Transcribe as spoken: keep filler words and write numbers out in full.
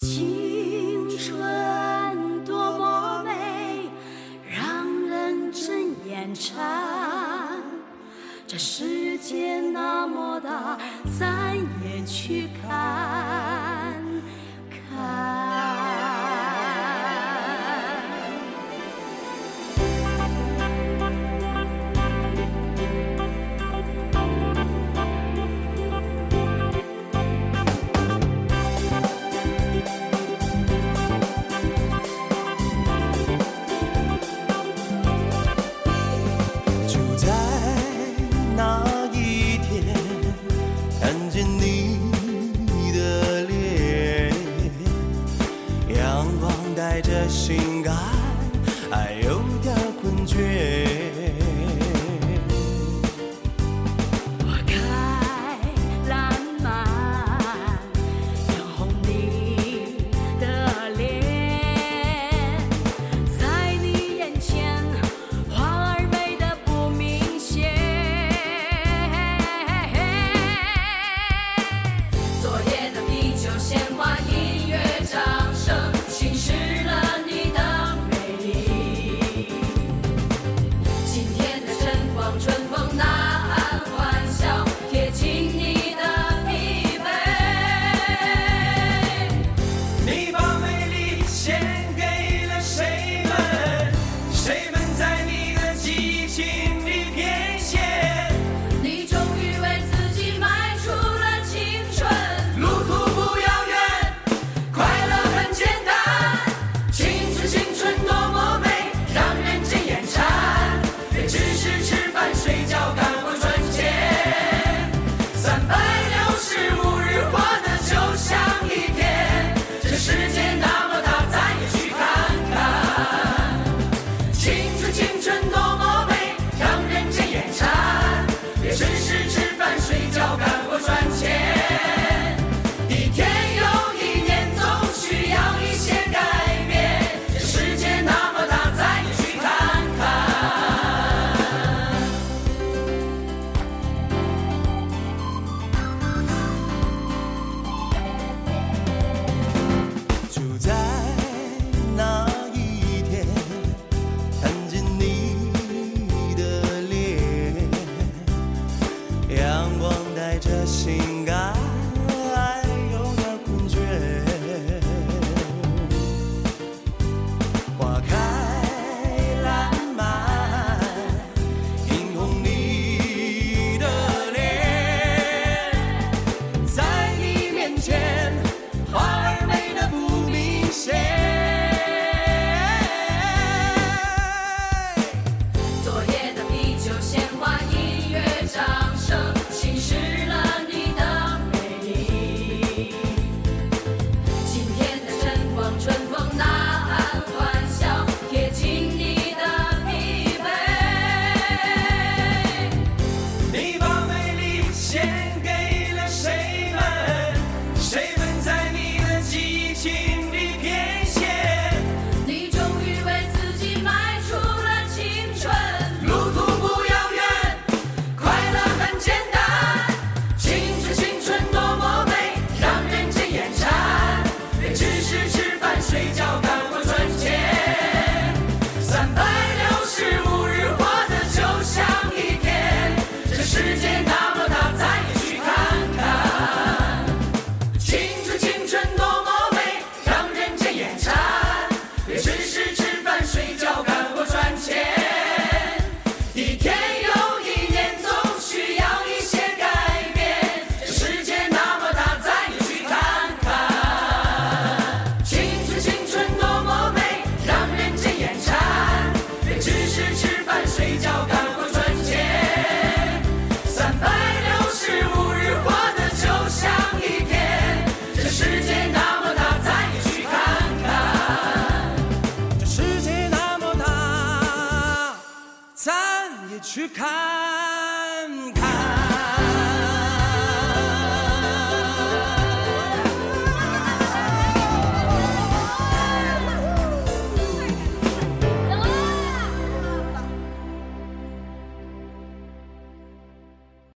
青春多么美，让人睁眼馋。这世界那么大，咱也去看看。 带着性感，还有点困倦。 花开烂漫，染红你的脸，在你眼前，花儿美得不明显。昨夜的啤酒、鲜花、音乐、掌声，侵蚀了你的美丽。今天的晨光，春风呐喊欢笑，贴近你的疲惫。 你把美丽献给了谁们？谁们在你的激情里变现？ 你终于为自己迈出了青春， 路途不遥远，快乐很简单。青春，青春多么美，让人见眼馋。别只是吃饭睡觉干活赚钱，三百六十五日活得就像一天。这世界那么大，咱也去看看。青春，青春多么美，让人见眼馋。别只是吃饭睡觉干活赚钱，一天又一年，总需要一些改变。这世界那么大，咱也去看看。就在那一天，看见你的脸，阳光带着性感，还有点困倦。花开烂漫，映红你的脸，在你面前，花儿美得不明显。 昨夜的啤酒、鲜花、音乐、掌声，侵蚀了你的美丽。今天的晨光，春风呐喊欢笑，贴近你的疲惫。 你把美丽献给了谁们？谁们在你的激情里变现？ 你终于为自己迈出了青春， 路途不遥远，快乐很简单。青春，青春多么美，让人见眼馋。别只是吃饭睡觉干活赚钱，三百六十五日活得就像一天。这世界那么大，咱也去看看。青春，青春多么美，让人见眼馋。别只是吃饭睡觉干活赚钱，一天又一年，总需要一些改变。这世界那么大，咱也去看看。青春，青春多么美，让人见眼馋。别只是吃饭睡觉干活赚钱，三百六十五日活得就像一天。这世界那么大，咱也去看看。这世界那么大，咱也去看看。